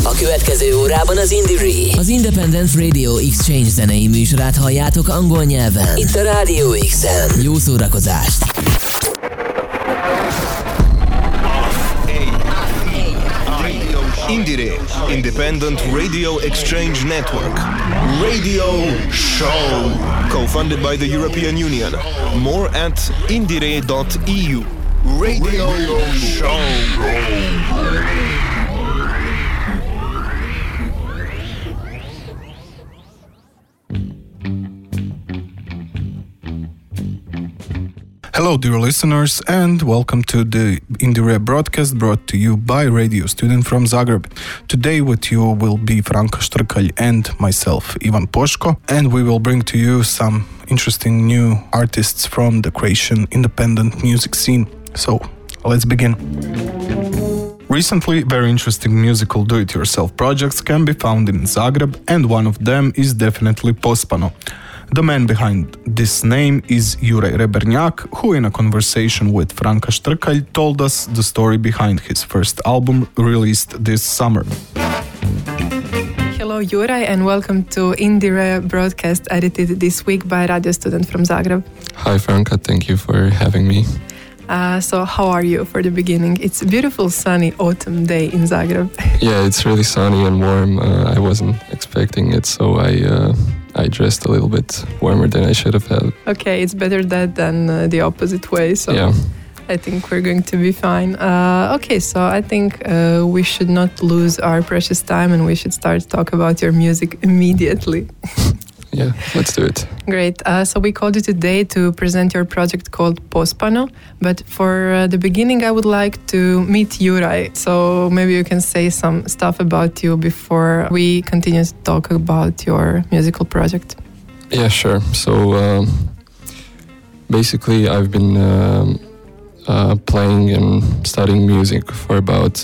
A következő órában az Indire, az Independent Radio Exchange zenei műsorát halljátok angol nyelven. Itt a Radio X-en. Jó szórakozást! Indire, Independent Radio Exchange Network. Radio Show. Co-funded by the European Union. More at indire.eu. Radio Show. Hello, dear listeners, and welcome to the Indire broadcast brought to you by Radio Student from Zagreb. Today with you will be Franka Štrkalj and myself, Ivan Poško, and we will bring to you some interesting new artists from the Croatian independent music scene. So, let's begin. Recently, very interesting musical do-it-yourself projects can be found in Zagreb, and one of them is definitely Pospano. The man behind this name is Juraj Rebernjak, who in a conversation with Franka Štrkalj told us the story behind his first album released this summer. Hello Juraj and welcome to Indire broadcast edited this week by Radio Student from Zagreb. Hi Franka, thank you for having me. So how are you for the beginning? It's a beautiful sunny autumn day in Zagreb. Yeah, it's really sunny and warm. I wasn't expecting it, so I dressed a little bit warmer than I should have had. Okay, it's better that than the opposite way, so yeah. I think we're going to be fine. Okay, so I think we should not lose our precious time and we should start talk about your music immediately. Yeah, let's do it. Great. So we called you today to present your project called Pospano. But for the beginning, I would like to meet Juraj. So maybe you can say some stuff about you before we continue to talk about your musical project. Yeah, sure. So basically, I've been playing and studying music for about,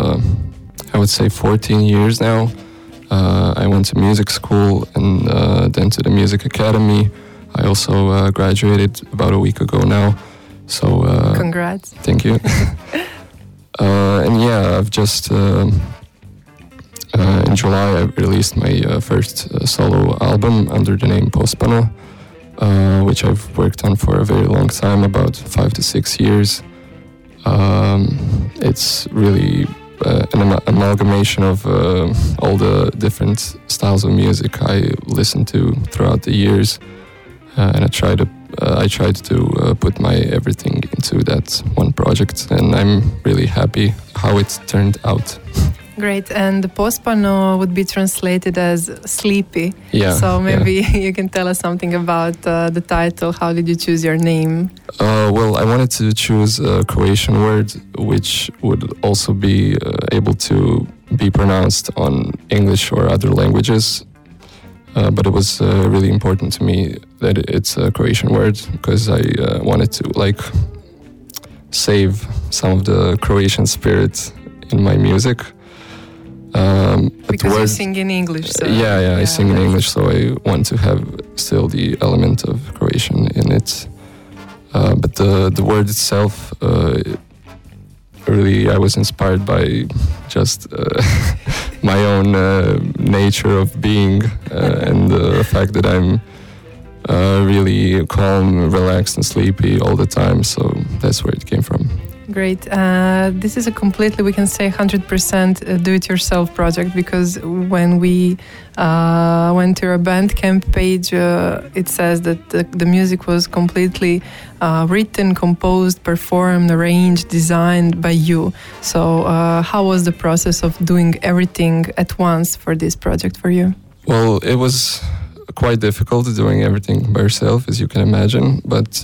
I would say, 14 years now. I went to music school and then to the music academy. I also graduated about a week ago now. So congrats. Thank you. And yeah, I've just in July I released my first solo album under the name Pospano, which I've worked on for a very long time, about 5 to 6 years. It's really an amalgamation of all the different styles of music I listened to throughout the years, and I tried to put my everything into that one project, and I'm really happy how it turned out. Great, and the Pospano would be translated as sleepy. Yeah. So maybe you can tell us something about the title. How did you choose your name? Well, I wanted to choose a Croatian word which would also be able to be pronounced on English or other languages. But it was really important to me that it's a Croatian word because I wanted to save some of the Croatian spirit in my music. Because you sing in English. So yeah, I sing in English, so I want to have still the element of Croatian in it. But the word itself, really, I was inspired by just my own nature of being and the fact that I'm really calm, relaxed, and sleepy all the time. So that's where it came from. Great. This is a completely, we can say, 100% do-it-yourself project, because when we went to your Bandcamp page, it says that the music was completely written, composed, performed, arranged, designed by you. So how was the process of doing everything at once for this project for you? Well, it was quite difficult doing everything by yourself, as you can imagine, but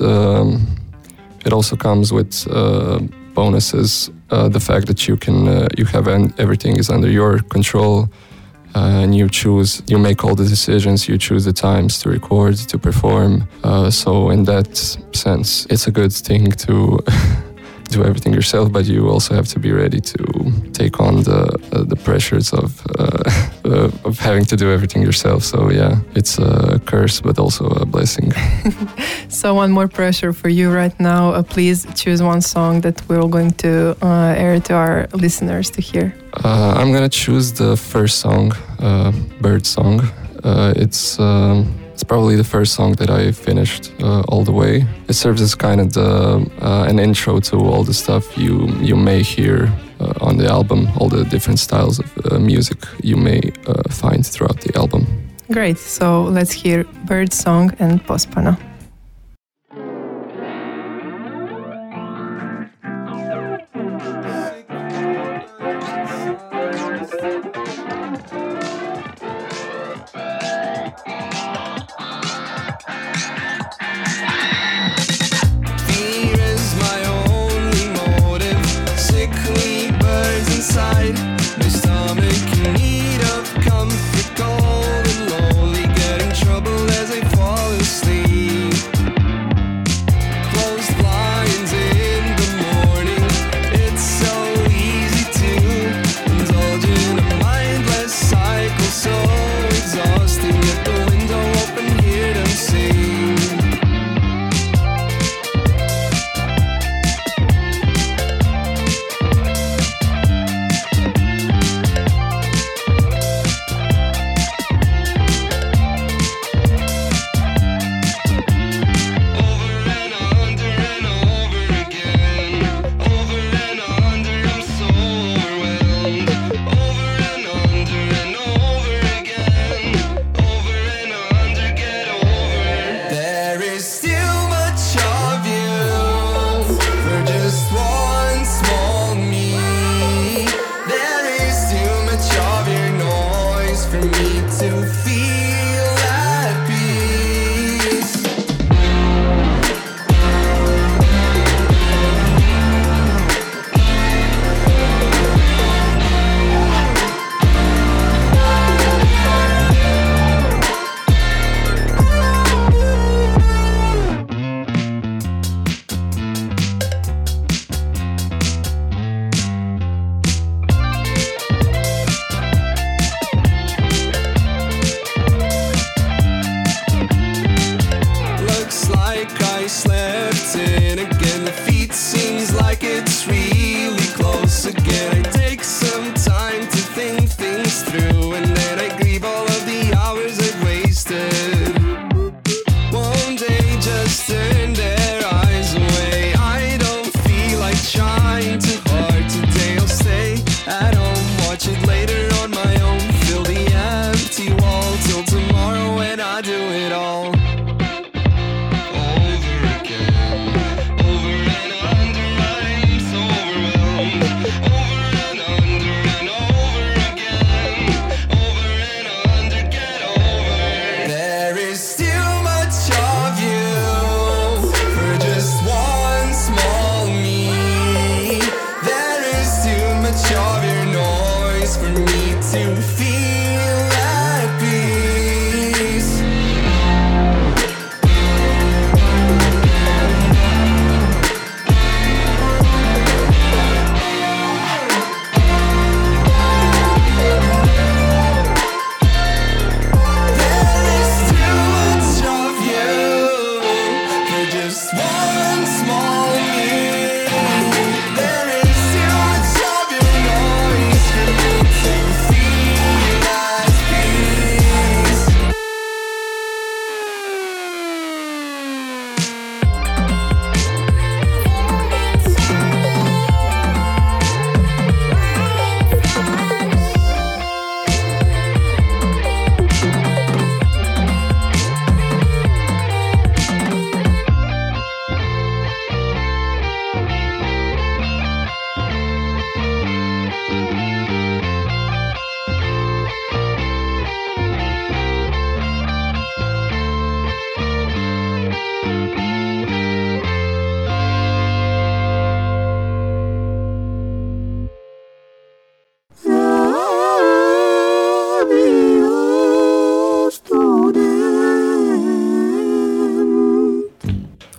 it also comes with bonuses. The fact that you have everything is under your control, and you make all the decisions, you choose the times to record, to perform. So in that sense, it's a good thing to do everything yourself, but you also have to be ready to take on the pressures of having to do everything yourself. So yeah, it's a curse, but also a blessing. So one more pressure for you right now. Please choose one song that we're going to air to our listeners to hear. I'm gonna choose the first song, Bird Song. It's probably the first song that I finished all the way. It serves as kind of an intro to all the stuff you may hear on the album, all the different styles of music you may find throughout the album. Great, so let's hear Bird Song and Pospana.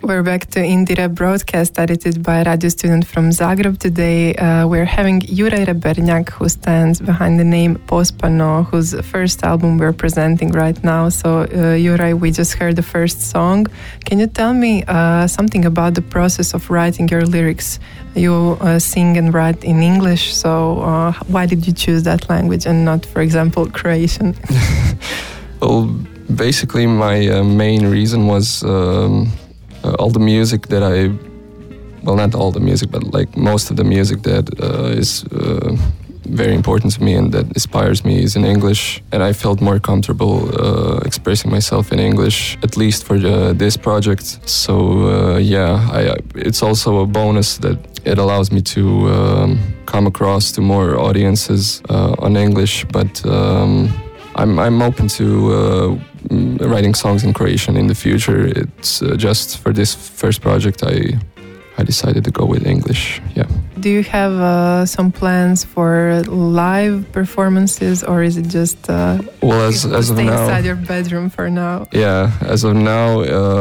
We're back to Indie Rap broadcast edited by a radio student from Zagreb. Today we're having Juraj Reberniak, who stands behind the name Pospano, whose first album we're presenting right now. So Juraj, we just heard the first song. Can you tell me something about the process of writing your lyrics? You sing and write in English, so why did you choose that language and not, for example, Croatian? Well, basically my main reason was all the music that well, not all the music, but like most of the music that is very important to me and that inspires me is in English. And I felt more comfortable expressing myself in English, at least for this project. So it's also a bonus that it allows me to come across to more audiences on English, but I'm open to writing songs in Croatian in the future. It's just for this first project I decided to go with English. Yeah. Do you have some plans for live performances, or is it just as of now, inside your bedroom for now? Yeah, as of now,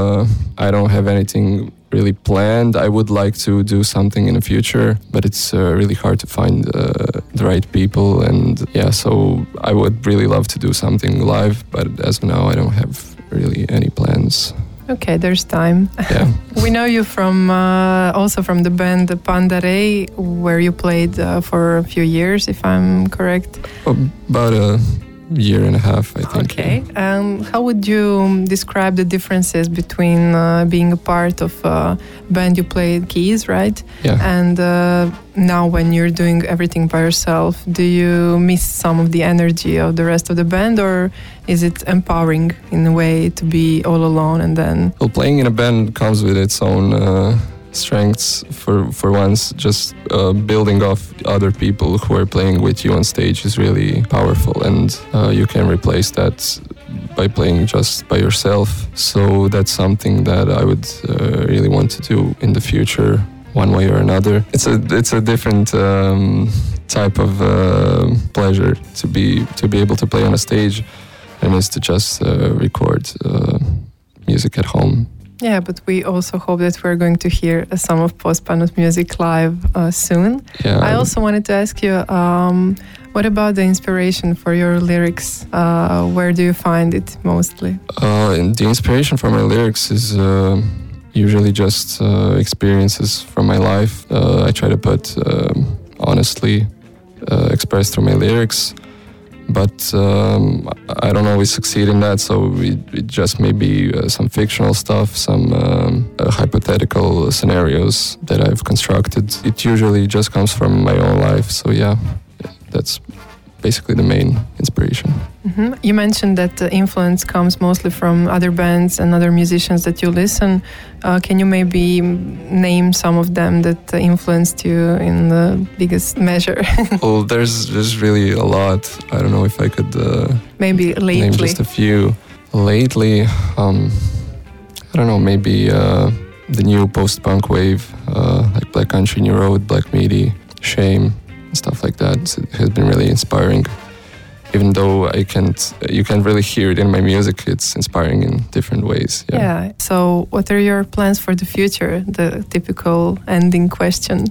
I don't have anything really planned. I would like to do something in the future, but it's really hard to find the right people, and so I would really love to do something live, but as of now I don't have really any plans. Okay, there's time. Yeah. We know you from also from the band Panda Ray, where you played for a few years, if I'm correct. About a year and a half, I think. Okay. How would you describe the differences between being a part of a band you played keys, right? Yeah. And now when you're doing everything by yourself, do you miss some of the energy of the rest of the band, or is it empowering in a way to be all alone and then... Well, playing in a band comes with its own strengths. For once, just building off other people who are playing with you on stage is really powerful, and you can replace that by playing just by yourself. So that's something that I would really want to do in the future, one way or another. It's a different type of pleasure to be able to play on a stage, and is to just record music at home. Yeah, but we also hope that we're going to hear some of Pospano's music live soon. Yeah. I also wanted to ask you, what about the inspiration for your lyrics? Where do you find it mostly? The inspiration for my lyrics is usually just experiences from my life. I try to put honestly expressed through my lyrics. But I don't always succeed in that, so it just may be some fictional stuff, some hypothetical scenarios that I've constructed. It usually just comes from my own life, so yeah, that's basically the main inspiration. Mm-hmm. You mentioned that the influence comes mostly from other bands and other musicians that you listen. Can you maybe name some of them that influenced you in the biggest measure? Well, there's really a lot. I don't know if I could maybe lately name just a few. Lately, I don't know, maybe the new post-punk wave, like Black Country New Road, Black Midi, Shame, stuff like that. It has been really inspiring. Even though you can't really hear it in my music, it's inspiring in different ways. Yeah. So what are your plans for the future? The typical ending question.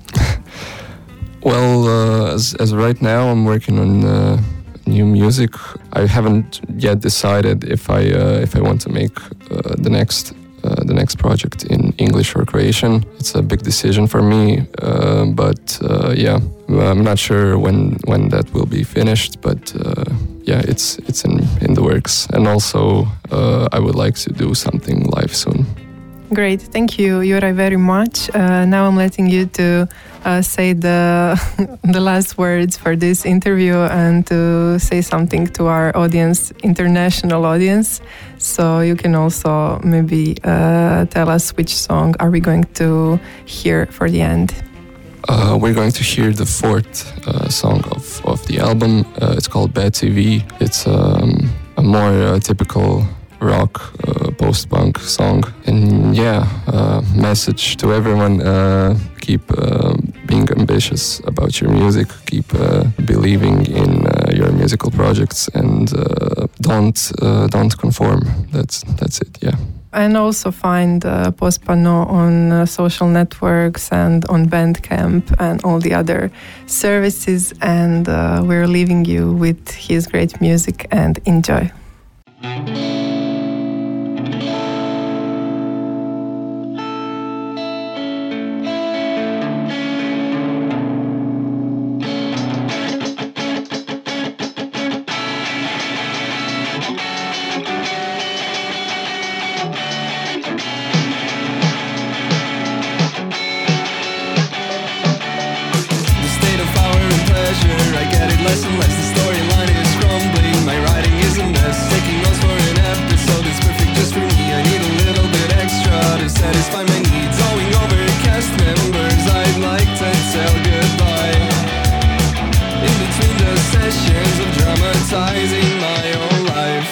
Well, as right now, I'm working on new music. I haven't yet decided if I want to make the next project in English or Croatian. It's a big decision for me, but I'm not sure when that will be finished. But it's in the works, and also I would like to do something live soon. Great, thank you, Juraj, very much. Now I'm letting you to say the last words for this interview and to say something to our audience, international audience. So you can also maybe tell us which song are we going to hear for the end. We're going to hear the fourth song of the album. It's called Bad TV. It's a more typical rock post-punk song, and message to everyone: keep being ambitious about your music, keep believing in your musical projects, and don't conform. That's it. Yeah. And also find Post Panneau on social networks and on Bandcamp and all the other services. And we're leaving you with his great music, and enjoy. Less and less, the storyline is crumbling. My writing is a mess. Taking notes for an episode is perfect just for me. I need a little bit extra to satisfy my needs. Going over cast members, I'd like to tell goodbye. In between the sessions of dramatizing my own life.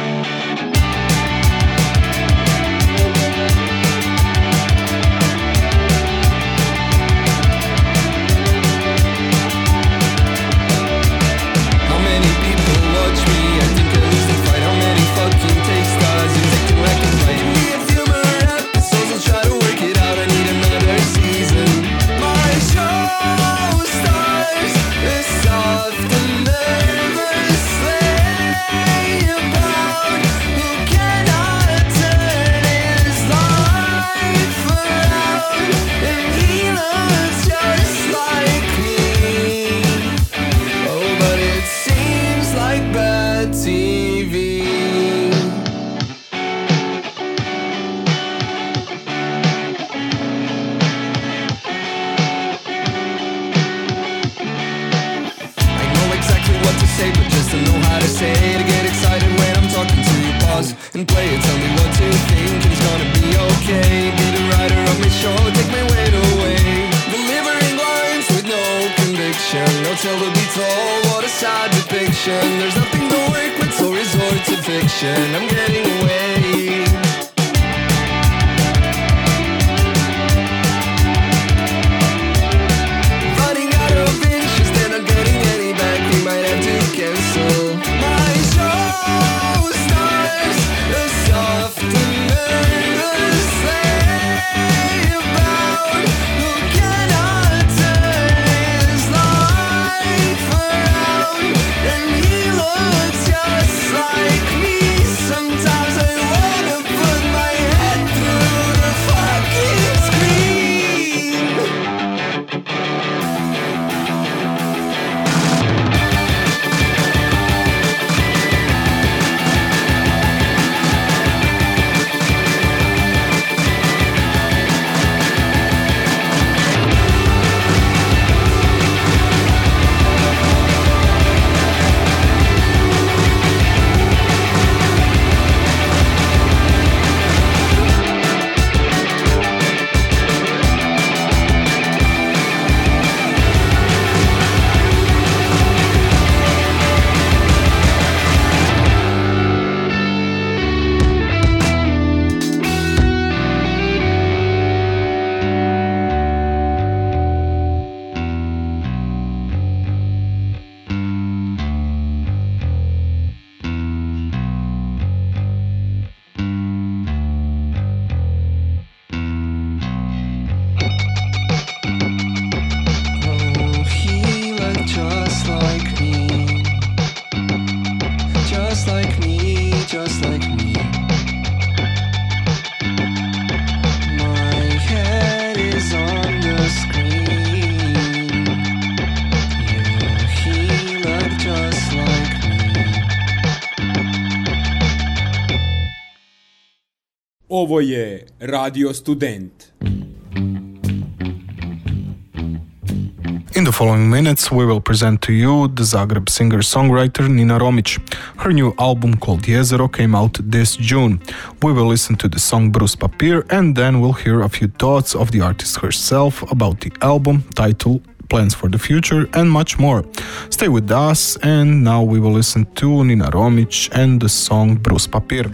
And play it, tell me what to think, and it's gonna be okay. Be the writer of my show, take my weight away. Delivering lines with no conviction, no tale to be told, what a sad depiction. There's nothing to work with, so resort to fiction. I'm getting away. Running out of inches, they're not getting any back. We might have to cancel my show. Soft and nervous lay about who cannot turn his life around, and he looks just like me. Sometimes I wanna put my head through the fucking screen. Ovo je Radio Student. In the following minutes, we will present to you the Zagreb singer-songwriter Nina Romic. Her new album called Jezero came out this June. We will listen to the song Brus Papir, and then we'll hear a few thoughts of the artist herself about the album, title, plans for the future, and much more. Stay with us, and now we will listen to Nina Romic and the song Brus Papir.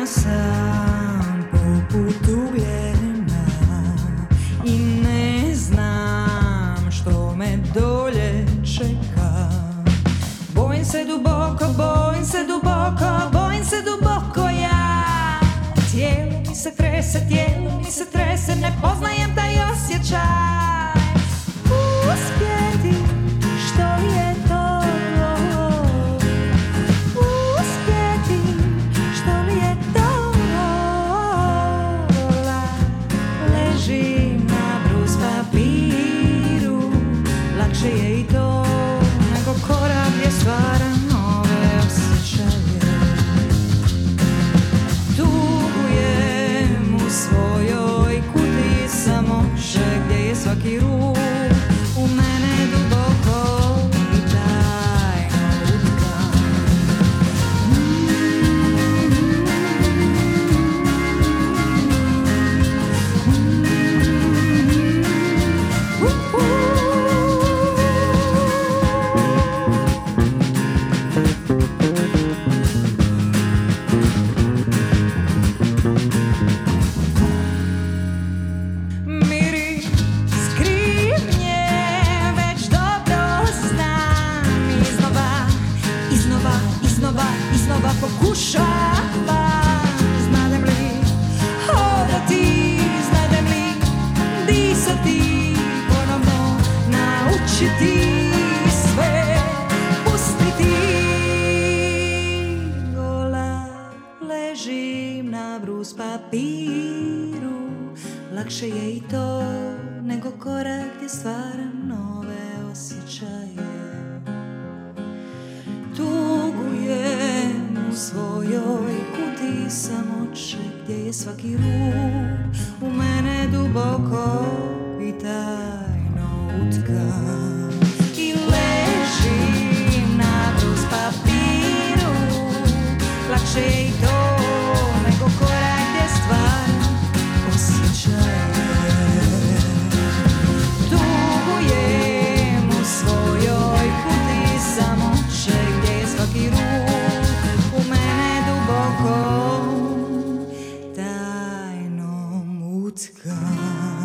sam poput ugljena i ne znam što me dolje čeka. Bojim se duboko, bojim se duboko, bojim se duboko ja. Tijelo mi se trese, tijelo mi se trese, ne poznajem taj osjećaj. Uspjeti, što je to? Uspjeti, što li je to? Ležim na brus papiru, lakše je i to nego korak gdje stvaram nove osjećaje. Tugujem u svojoj kutiji samoće gdje je svaki ruh u mene duboko i tajno utkan. Pokušavam, znadem li hodati, znadem li disati, ponovno naučiti sve, pustiti. Gola ležim na brus papiru, lakše je i to nego korak gdje stvaram nove osjećaje. Tugujem u svojoj kutiji samoće gdje je svaki ruh u mene duboko i tajno utkan. I ležim na brus papiru, lakše je i to nego korak gdje stvaram osjećaje. Tugujem u svojoj kutiji samoće gdje je svaki ruh u mene duboko tajno utkan.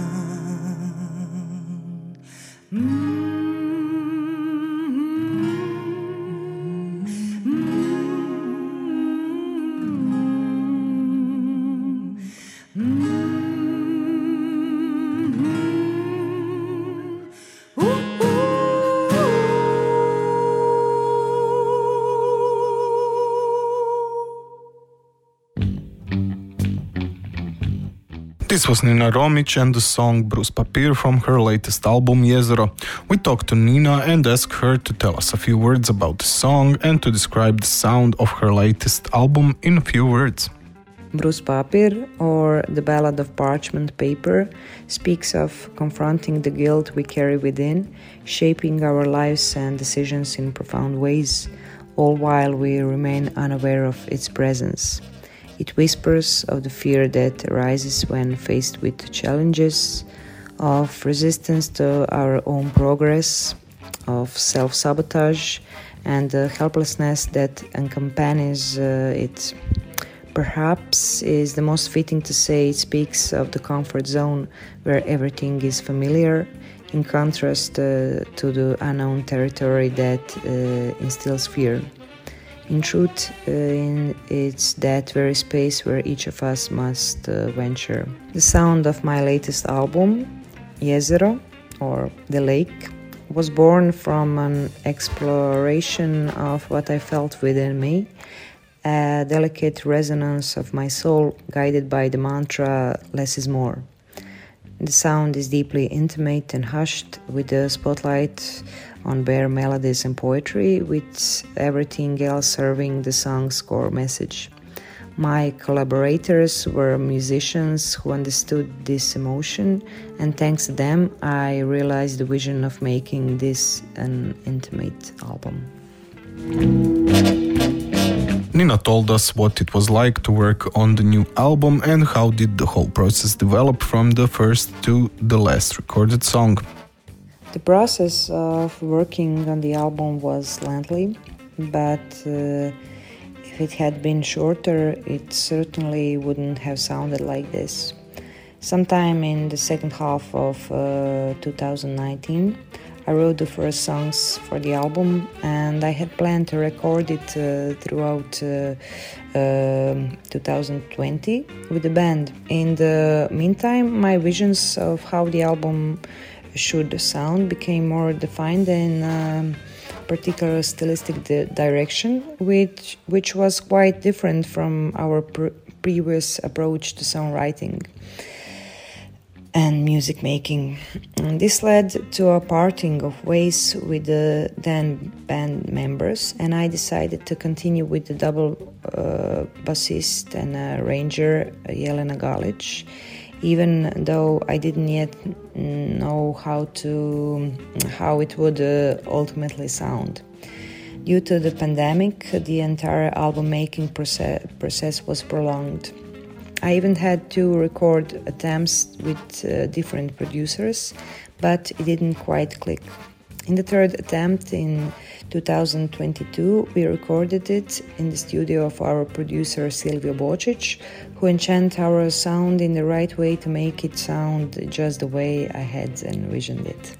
This was Nina Romic and the song Brus Papir from her latest album Jezero. We talked to Nina and asked her to tell us a few words about the song and to describe the sound of her latest album in a few words. Brus Papir, or The Ballad of Parchment Paper, speaks of confronting the guilt we carry within, shaping our lives and decisions in profound ways, all while we remain unaware of its presence. It whispers of the fear that arises when faced with challenges, of resistance to our own progress, of self-sabotage, and the helplessness that accompanies it. Perhaps is the most fitting to say it speaks of the comfort zone where everything is familiar, in contrast to the unknown territory that instills fear. In truth, it's that very space where each of us must venture. The sound of my latest album, Jezero, or The Lake, was born from an exploration of what I felt within me, a delicate resonance of my soul guided by the mantra, less is more. The sound is deeply intimate and hushed, with the spotlight on bare melodies and poetry, with everything else serving the song's core message. My collaborators were musicians who understood this emotion, and thanks to them, I realized the vision of making this an intimate album. Nina told us what it was like to work on the new album and how did the whole process develop from the first to the last recorded song. The process of working on the album was lengthy, but If it had been shorter, it certainly wouldn't have sounded like this. Sometime in the second half of 2019, I wrote the first songs for the album, and I had planned to record it throughout 2020 with the band. In the meantime, my visions of how the album should sound became more defined in particular stylistic direction, which was quite different from our previous approach to songwriting and music making. And this led to a parting of ways with the then band members, and I decided to continue with the double bassist and arranger Jelena Galic, even though I didn't yet know how it would ultimately sound. Due to the pandemic, the entire album making process was prolonged. I even had 2 record attempts with different producers, but it didn't quite click. In the third attempt in 2022, we recorded it in the studio of our producer Silvio Bocic, who enchanted our sound in the right way to make it sound just the way I had envisioned it.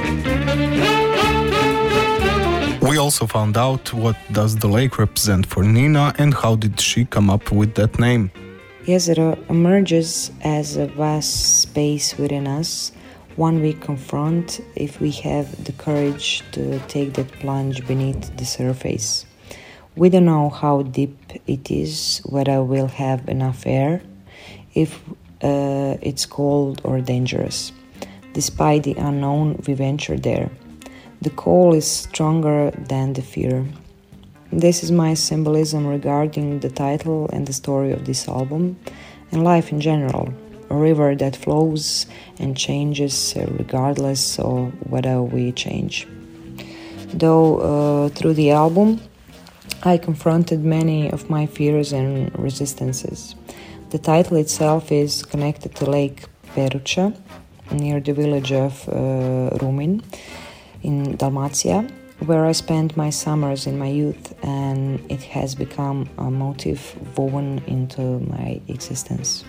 We also found out what does the lake represent for Nina and how did she come up with that name. Jezero emerges as a vast space within us, one we confront if we have the courage to take that plunge beneath the surface. We don't know how deep it is, whether we'll have enough air, if it's cold or dangerous. Despite the unknown, we venture there. The call is stronger than the fear. This is my symbolism regarding the title and the story of this album, and life in general, a river that flows and changes regardless of whether we change. Though through the album, I confronted many of my fears and resistances. The title itself is connected to Lake Peruća, near the village of Rumin in Dalmatia, where I spent my summers in my youth, and it has become a motif woven into my existence.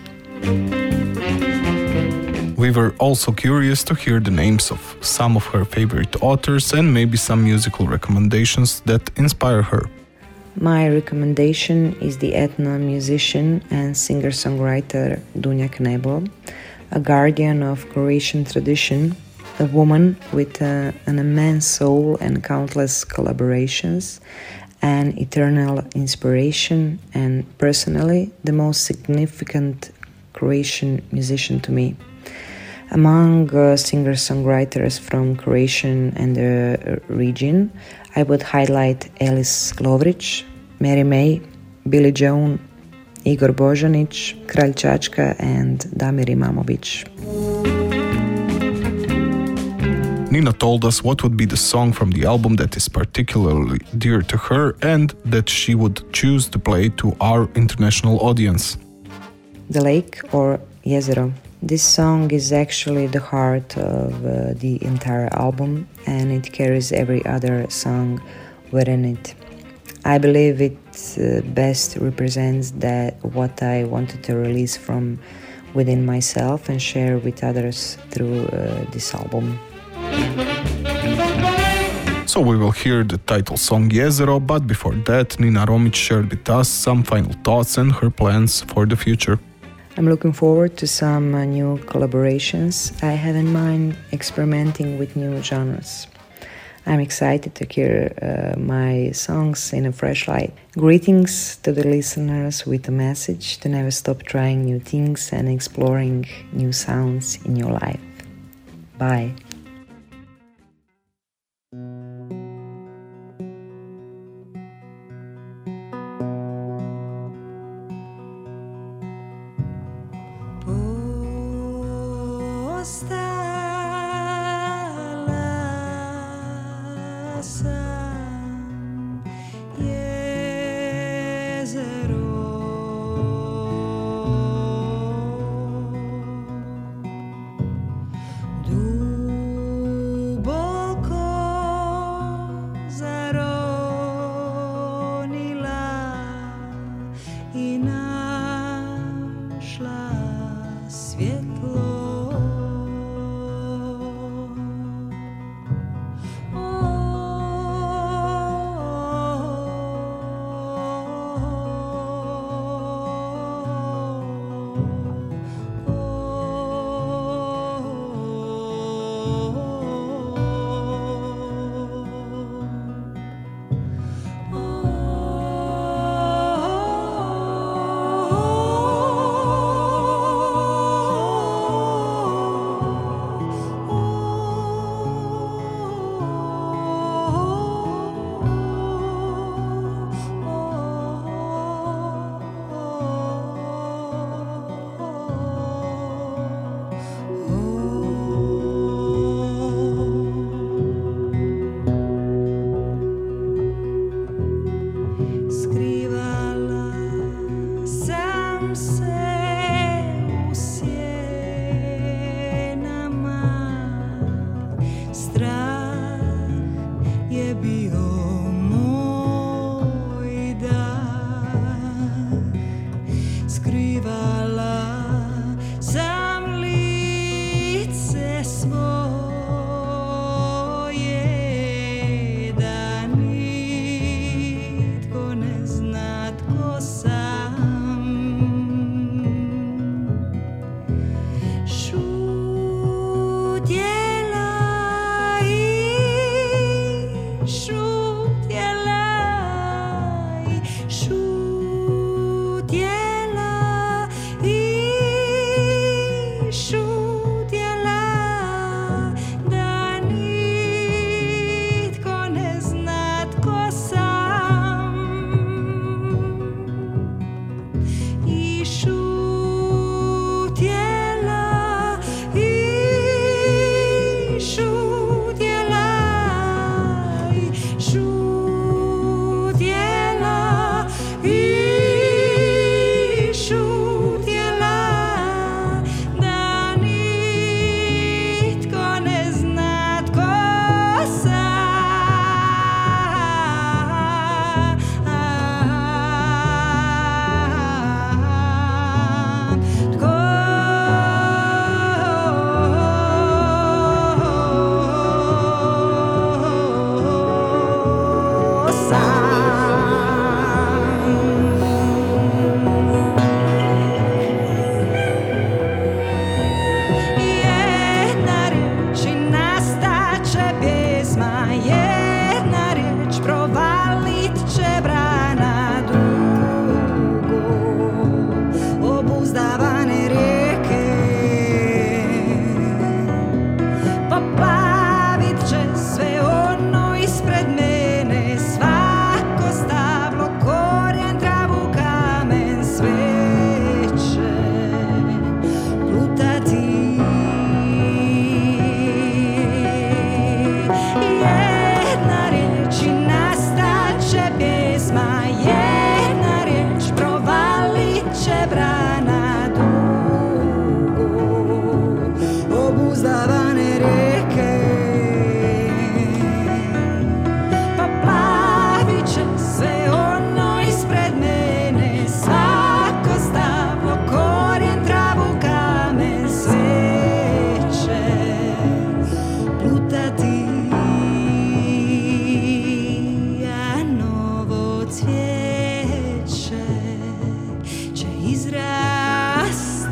We were also curious to hear the names of some of her favorite authors and maybe some musical recommendations that inspire her. My recommendation is the ethno-musician and singer-songwriter Dunja Knebel, a guardian of Croatian tradition, a woman with an immense soul and countless collaborations, an eternal inspiration, and personally the most significant Croatian musician to me. Among singer-songwriters from Croatian and the region, I would highlight Elis Lovrić, Mary May, Billy Joan, Igor Bojanic, Kralj Čačka, and Damir Imamović. Nina told us what would be the song from the album that is particularly dear to her and that she would choose to play to our international audience. The Lake, or Jezero. This song is actually the heart of the entire album, and it carries every other song within it. I believe it best represents what I wanted to release from within myself and share with others through this album. So we will hear the title song Jezero, but before that, Nina Romić shared with us some final thoughts and her plans for the future. I'm looking forward to some new collaborations. I have in mind experimenting with new genres. I'm excited to hear my songs in a fresh light. Greetings to the listeners with a message to never stop trying new things and exploring new sounds in your life. Bye. cvijeće će izrasti.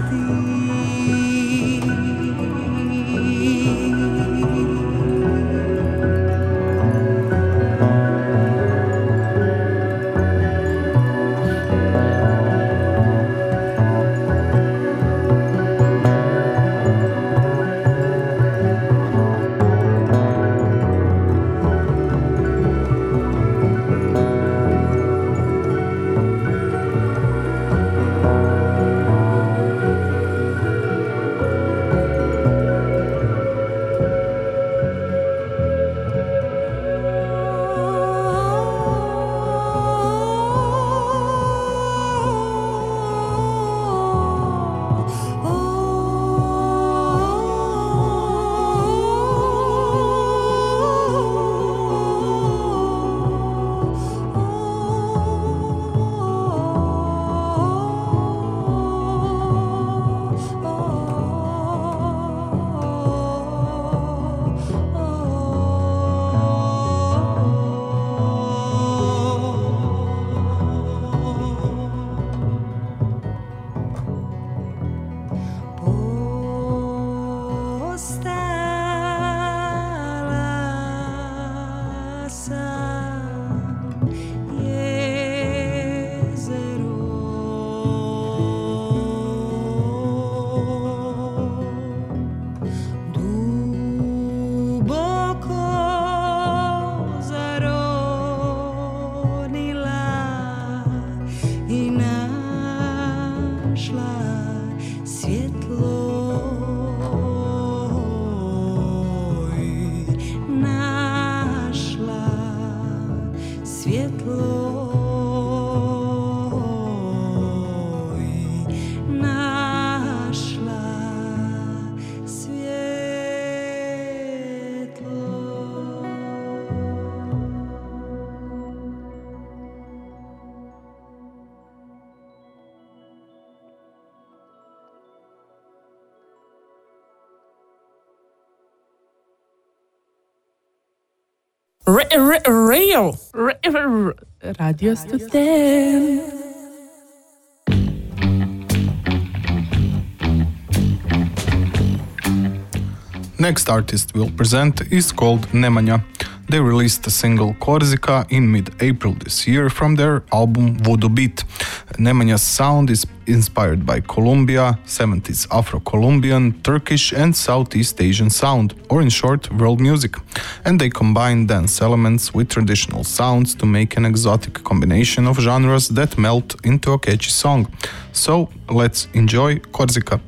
Radio Student. Next artist we'll present is called Nemanja. They released a single Korsika in mid-April this year from their album Voodoo Beat. Nemanja's sound is inspired by Colombia, 70s Afro-Colombian, Turkish and Southeast Asian sound, or in short, world music. And they combine dance elements with traditional sounds to make an exotic combination of genres that melt into a catchy song. So, let's enjoy Korsika.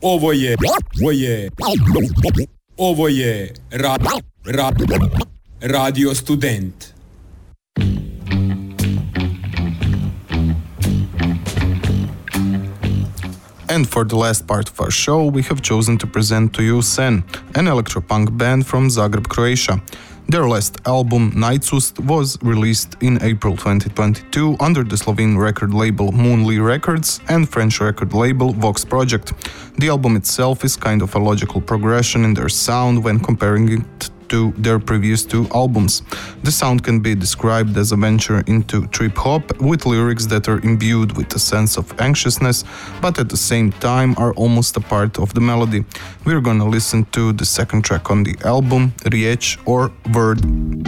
Ovo je Radio Student. And for the last part of our show, we have chosen to present to you Sen, an electropunk band from Zagreb, Croatia. Their last album, Nightsust, was released in April 2022 under the Slovene record label Moonly Records and French record label Vox Project. The album itself is kind of a logical progression in their sound when comparing it to their previous two albums. The sound can be described as a venture into trip-hop with lyrics that are imbued with a sense of anxiousness, but at the same time are almost a part of the melody. We're gonna listen to the second track on the album, Riječ or Word.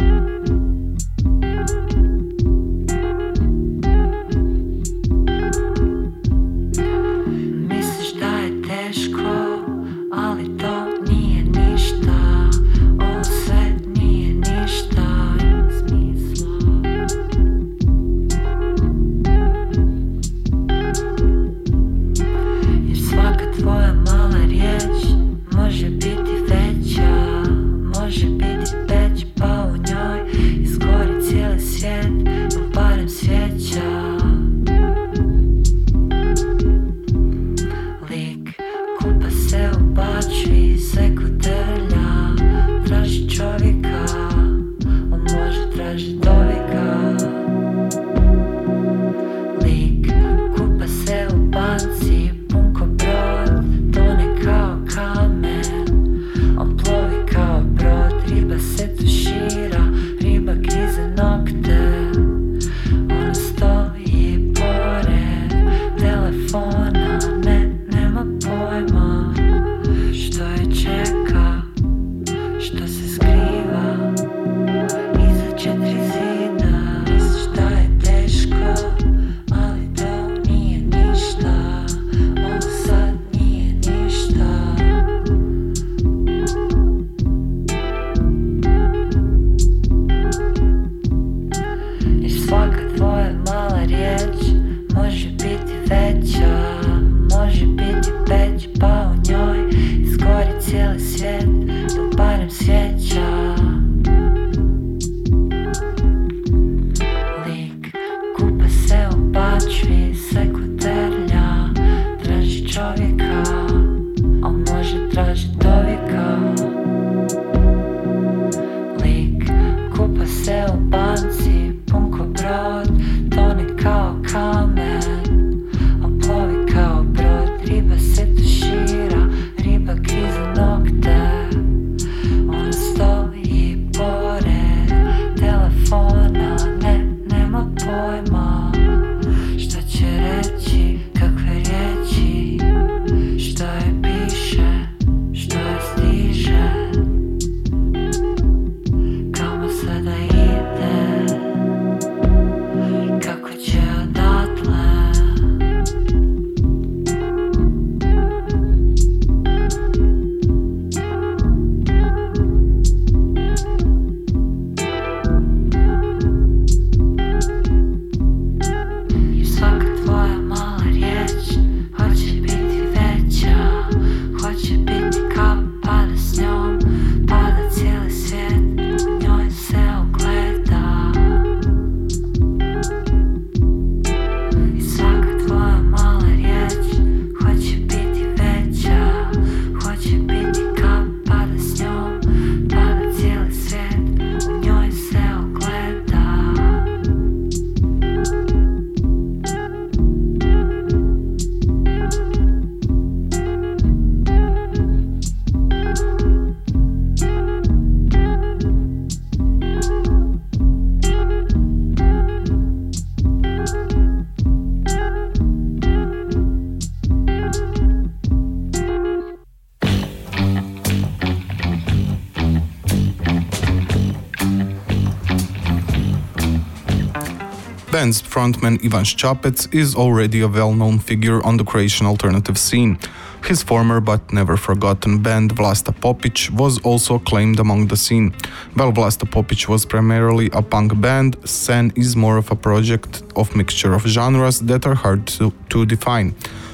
band's frontman Ivan Ščapec is already a well-known figure on the Croatian alternative scene. His former but never forgotten band Vlasta Popić was also acclaimed among the scene. While Vlasta Popić was primarily a punk band, Sen is more of a project of mixture of genres that are hard to define.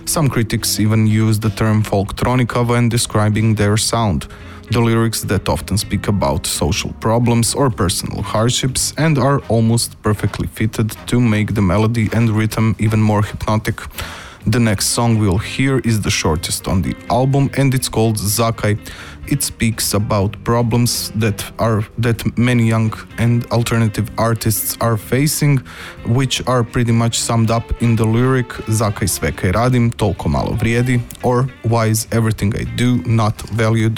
Some critics even use the term folktronica when describing their sound. The lyrics that often speak about social problems or personal hardships and are almost perfectly fitted to make the melody and rhythm even more hypnotic. The next song we'll hear is the shortest on the album and it's called Zakaj. It speaks about problems that many young and alternative artists are facing, which are pretty much summed up in the lyric Zakaj sve kaj radim, toliko malo vrijedi, or why is everything I do not valued?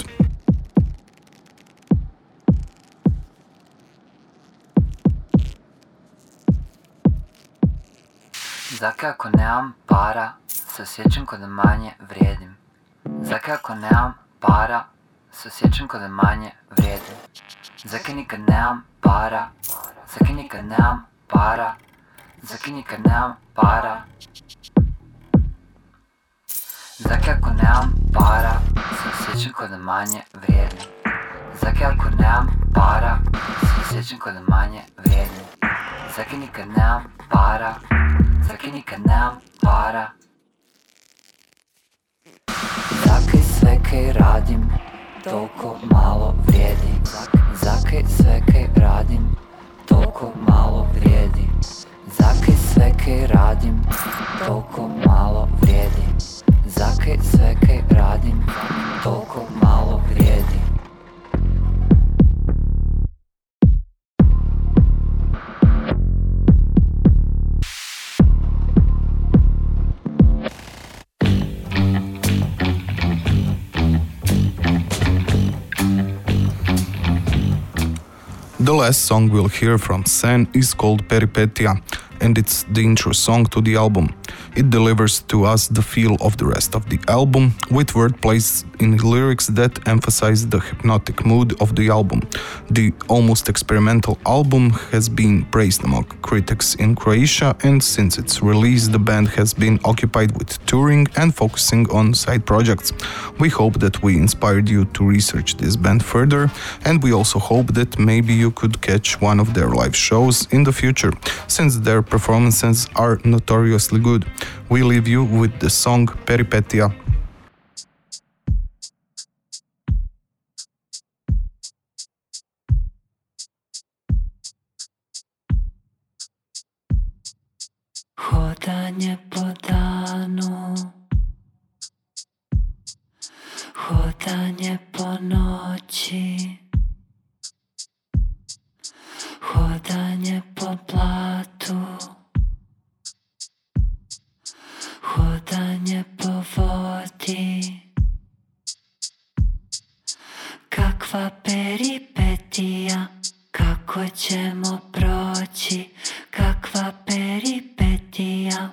Zakaj ako nemam para, se osjećam ko da manje vrijedim. Zakaj ako nemam para, se osjećam ko da manje vrijedim. Zakaj nikad nemam para, zakaj nikad nemam para, zakaj nikad nemam para. Zakaj ako nemam para, se osjećam ko da manje vrijedim. Zakaj ako nemam para, se osjećam ko da manje vrijedim. Zakaj nikad nemam para, zakaj nikad nemam para. Zakaj sve kaj radim, toliko malo vrijedi. Zakaj sve kaj radim, toliko malo vrijedi. Zakaj sve kaj radim, toliko malo vrijedi. Zakaj sve kaj radim, toliko malo vrijedi. The last song we'll hear from Sen is called Peripetia, and it's the intro song to the album. It delivers to us the feel of the rest of the album, with wordplays in lyrics that emphasize the hypnotic mood of the album. The almost experimental album has been praised among critics in Croatia, and since its release the band has been occupied with touring and focusing on side projects. We hope that we inspired you to research this band further, and we also hope that maybe you could catch one of their live shows in the future, since their performances are notoriously good. We leave you with the song Peripetia. Hodanje po danu, hodanje po noći, hodanje po blatu, hodanje po vodi. Kakva peripetija, kako ćemo proći, kakva peripetija.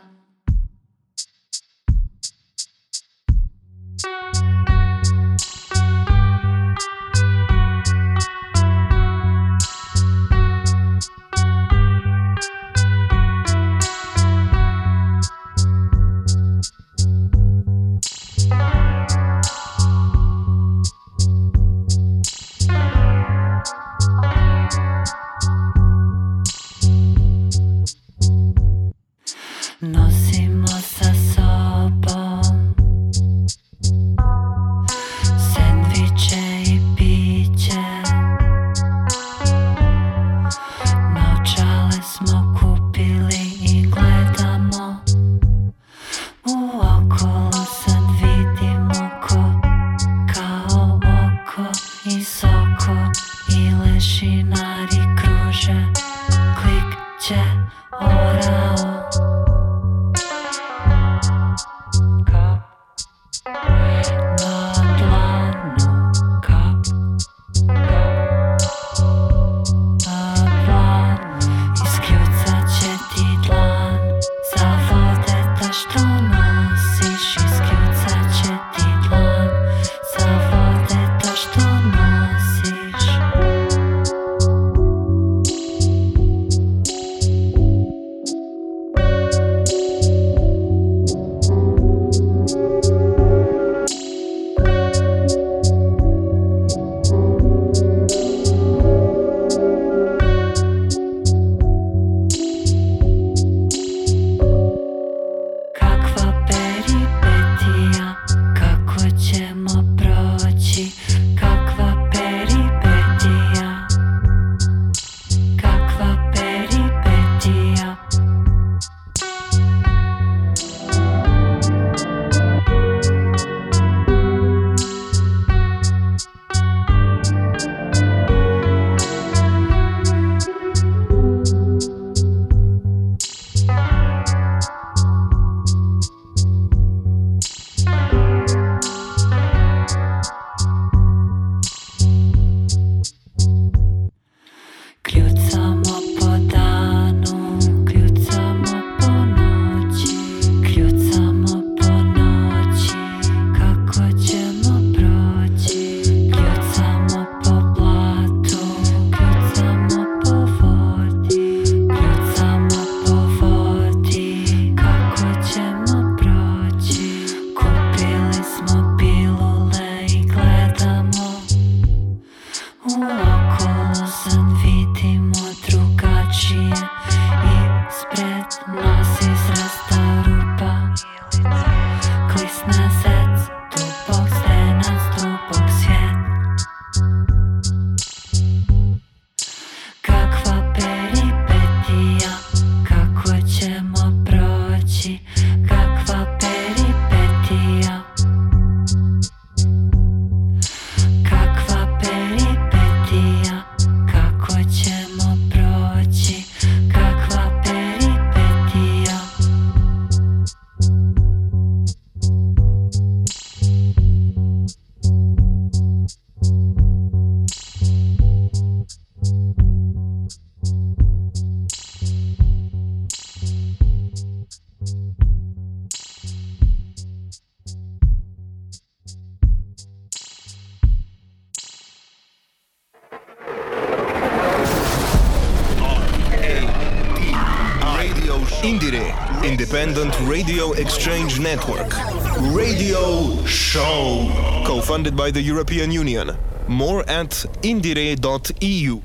Independent Radio Exchange Network. Radio Show. Co-funded by the European Union. More at indire.eu.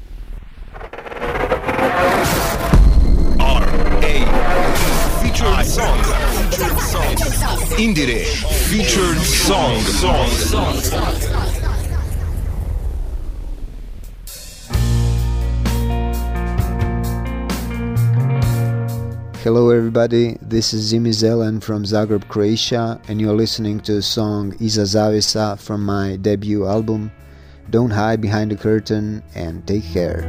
Featured song. Indire. Featured song. Hello everybody, this is Zimi Zelen from Zagreb, Croatia, and you're listening to the song Iza Zavesa from my debut album. Don't hide behind the curtain and take care.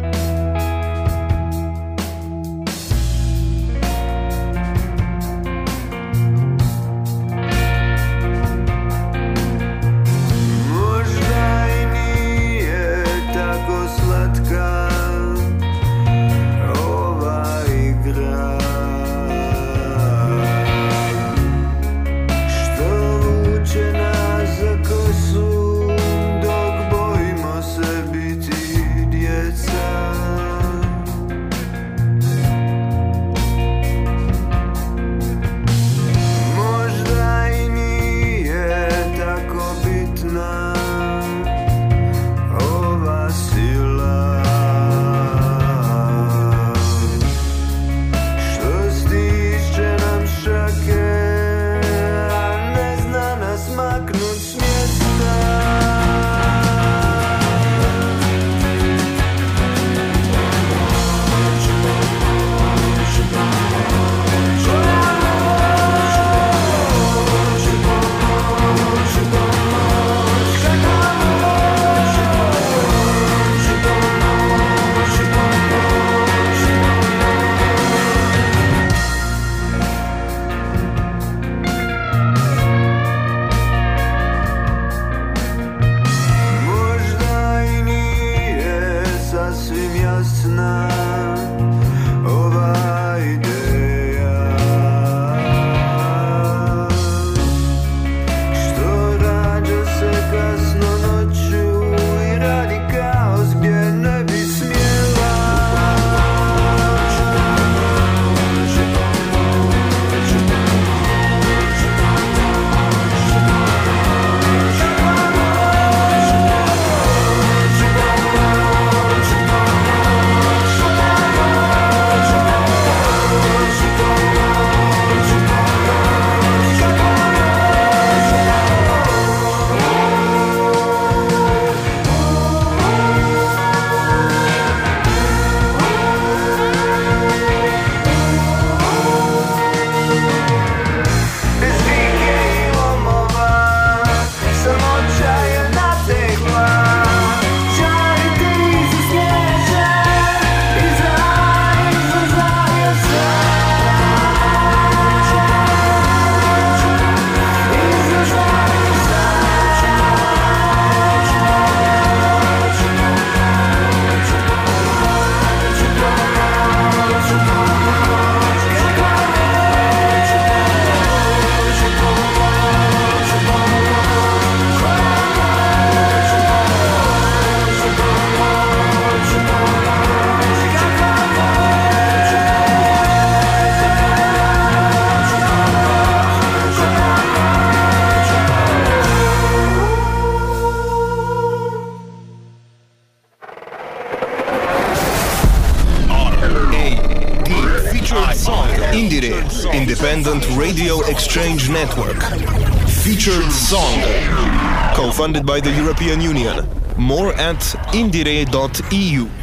Independent Radio Exchange Network. Featured song. Co-funded by the European Union. More at indire.eu.